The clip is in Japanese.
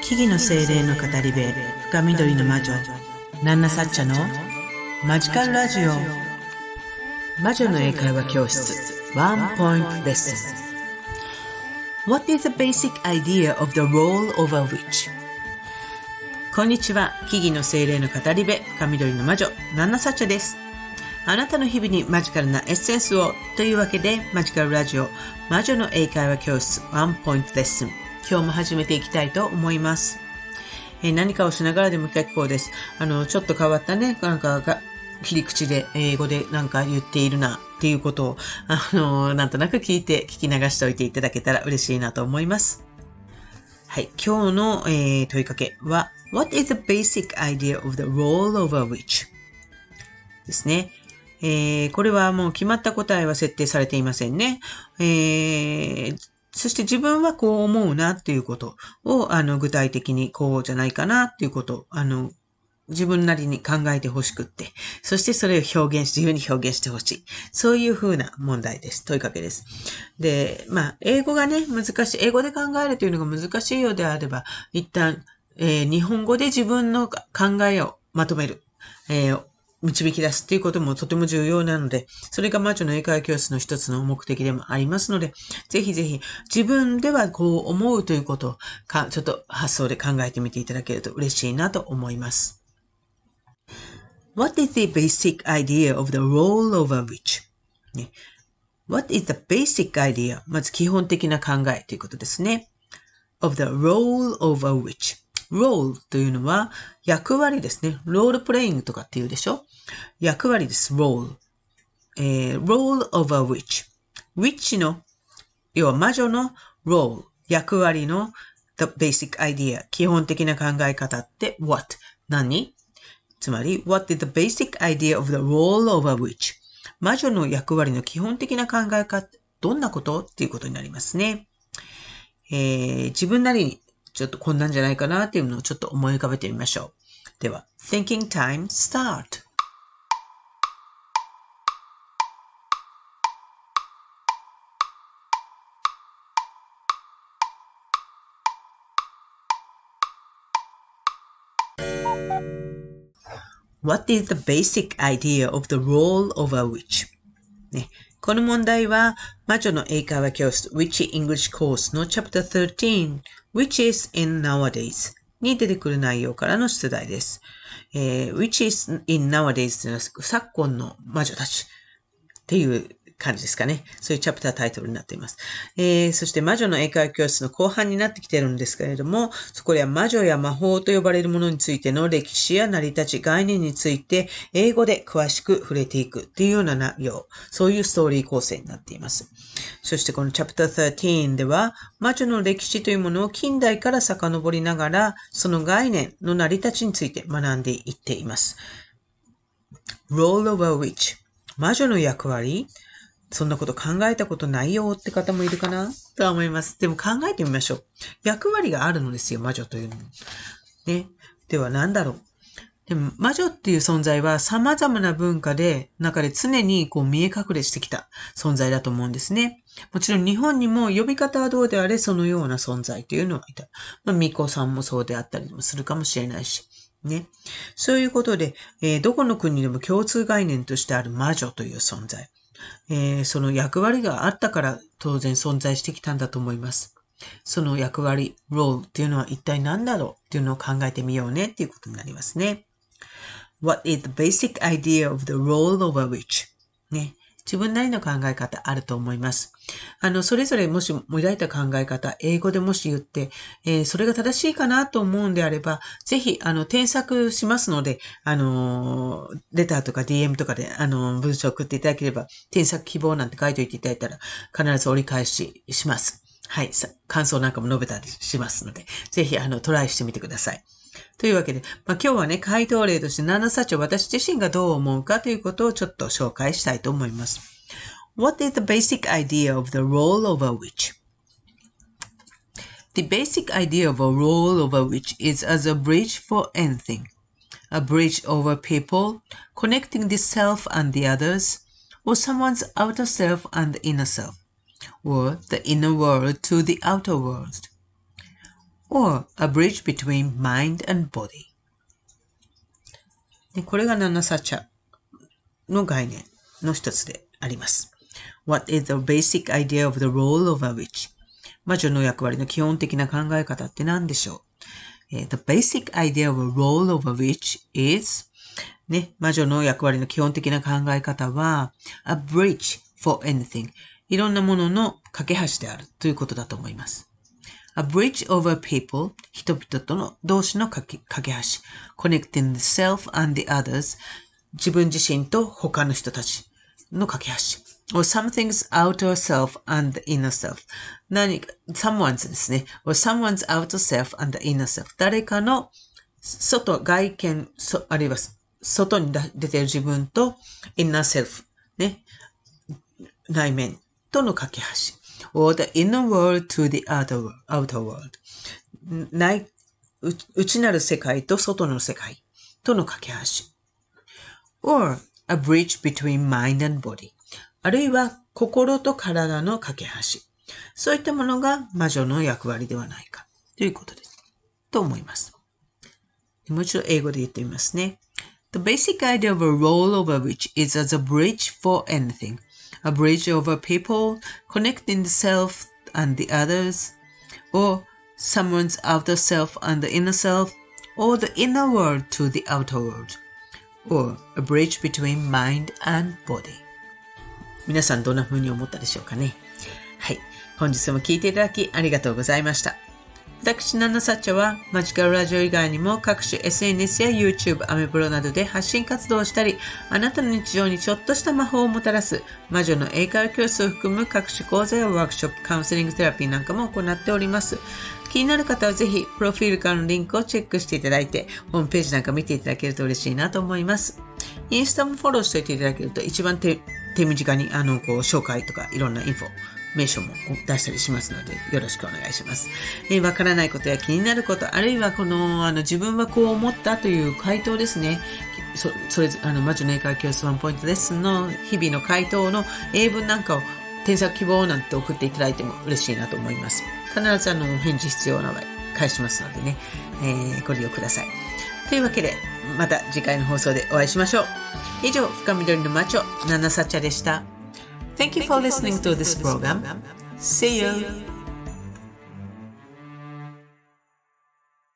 木々の精霊の語り部、深緑の魔女、ナンナサッチャのマジカルラジオ。魔女の英会話教室、ワンポイントレッスン。What is the basic idea of the role of a witch? こんにちは、木々の精霊の語り部、深緑の魔女、ナンナサッチャです。あなたの日々にマジカルなエッセンスをというわけで、マジカルラジオ、魔女の英会話教室、ワンポイントレッスン。今日も始めていきたいと思います。何かをしながらでも結構です。ちょっと変わったね、切り口で英語でなんか言っているなっていうことを、なんとなく聞き流しておいていただけたら嬉しいなと思います。はい、今日の、問いかけは What is the basic idea of the role of a witch? ですね。これはもう決まった答えは設定されていませんね。そして自分はこう思うなっていうことを、具体的にこうじゃないかなっていうことを、自分なりに考えてほしくって、そしてそれを自由に表現してほしい。そういう風な問題です。問いかけです。で、英語がね、英語で考えるというのが難しいようであれば、一旦、日本語で自分の考えをまとめる。導き出すっていうこともとても重要なので、それが魔女の英会話教室の一つの目的でもありますので、ぜひぜひ自分ではこう思うということをちょっと発想で考えてみていただけると嬉しいなと思います。What is the basic idea of the role of a witch? What is the basic idea? まず基本的な考えということですね。of the role of a witch.role というのは役割ですね。ロールプレイングとかっていうでしょ？役割です。role。role of a witch。witch の、要は魔女の role。役割の the basic idea。基本的な考え方って what？何？つまり what is the basic idea of the role of a witch？ 魔女の役割の基本的な考え方、どんなことっていうことになりますね。自分なりにちょっとこんなんじゃないかなっていうのをちょっと思い浮かべてみましょう。では、Thinking Time Start! What is the basic idea of the role of a witch? ね、この問題は魔女の英会話教室 Witchy English Course の Chapter 13 Witches in Nowadays に出てくる内容からの出題です。Witches in Nowadays というのは昨今の魔女たちっていう感じですかね。そういうチャプタータイトルになっています。そして魔女の英会話教室の後半になってきているんですけれども、そこでは魔女や魔法と呼ばれるものについての歴史や成り立ち、概念について英語で詳しく触れていくっていうような内容、そういうストーリー構成になっています。そしてこのチャプター13では、魔女の歴史というものを近代から遡りながら、その概念の成り立ちについて学んでいっています。Role of a witch。魔女の役割？そんなこと考えたことないよって方もいるかなとは思います。でも考えてみましょう。役割があるのですよ、魔女というのに。ね。では何だろう。でも魔女っていう存在は様々な文化で中で常にこう見え隠れしてきた存在だと思うんですね。もちろん日本にも呼び方はどうであれそのような存在というのがいた。巫女さんもそうであったりもするかもしれないし。ね。そういうことで、どこの国でも共通概念としてある魔女という存在。その役割があったから当然存在してきたんだと思います。その役割、ロールっていうのは一体何だろうっていうのを考えてみようねっていうことになりますね。What is the basic idea of the role of a witch? ね。自分なりの考え方あると思います。それぞれもし抱いた考え方、英語でもし言って、それが正しいかなと思うんであれば、ぜひ、添削しますので、レターとか DM とかで、文章を送っていただければ、添削希望なんて書いておいていただいたら、必ず折り返しします。はい。感想なんかも述べたりしますので、ぜひ、トライしてみてください。というわけで、今日はね、回答例として7冊を私自身がどう思うかということをちょっと紹介したいと思います。What is the basic idea of the role of a witch? The basic idea of a role of a witch is as a bridge for anything. A bridge over people, connecting the self and the others, or someone's outer self and the inner self, or the inner world to the outer world. or a bridge between mind and body。これがナナサッチャの概念の一つであります。What is the basic idea of the role of a witch? 魔女の役割の基本的な考え方って何でしょう？ The basic idea of a role of a witch is 魔女の役割の基本的な考え方は a bridge for anything いろんなものの架け橋であるということだと思います。A bridge over people 人々との同士の架け橋 connecting the self and the others 自分自身と他の人たちの架け橋 or something's outer self and the inner self someone's ですね or someone's outer self and the inner self 誰かの外見あるいは外に出ている自分と inner self 内面との架け橋 or the inner world to the outer world 内なる世界と外の世界との架け橋 or a bridge between mind and body あるいは心と体の架け橋そういったものが魔女の役割ではないかということですと思いますもう一度英語で言ってみますね The basic idea of a role of a witch is as a bridge for anything A bridge over people, connecting the self and the others, or someone's outer self and the inner self, or the inner world to the outer world, or a bridge between mind and body. 皆さんどんな風に思ったでしょうかね。はい。本日も聞いていただきありがとうございました。私、ナナサッチャはマジカルラジオ以外にも各種 SNS や YouTube、アメブロなどで発信活動をしたり、あなたの日常にちょっとした魔法をもたらす魔女の英会話教室を含む各種講座やワークショップ、カウンセリングセラピーなんかも行っております。気になる方はぜひ、プロフィールからのリンクをチェックしていただいて、ホームページなんか見ていただけると嬉しいなと思います。インスタもフォローしておいていただけると一番手短に紹介とかいろんなインフォ名称も出したりしますのでよろしくお願いします。わからないことや気になること、あるいは自分はこう思ったという回答ですね。それ魔女の英会話教室ワンポイントレッスンの日々の回答の英文なんかを添削希望なんて送っていただいても嬉しいなと思います。必ず返事必要な場合返しますのでね、ご利用ください。というわけでまた次回の放送でお会いしましょう。以上、深緑の魔女ナナサチャでした。Thank you for listening to this program. See you.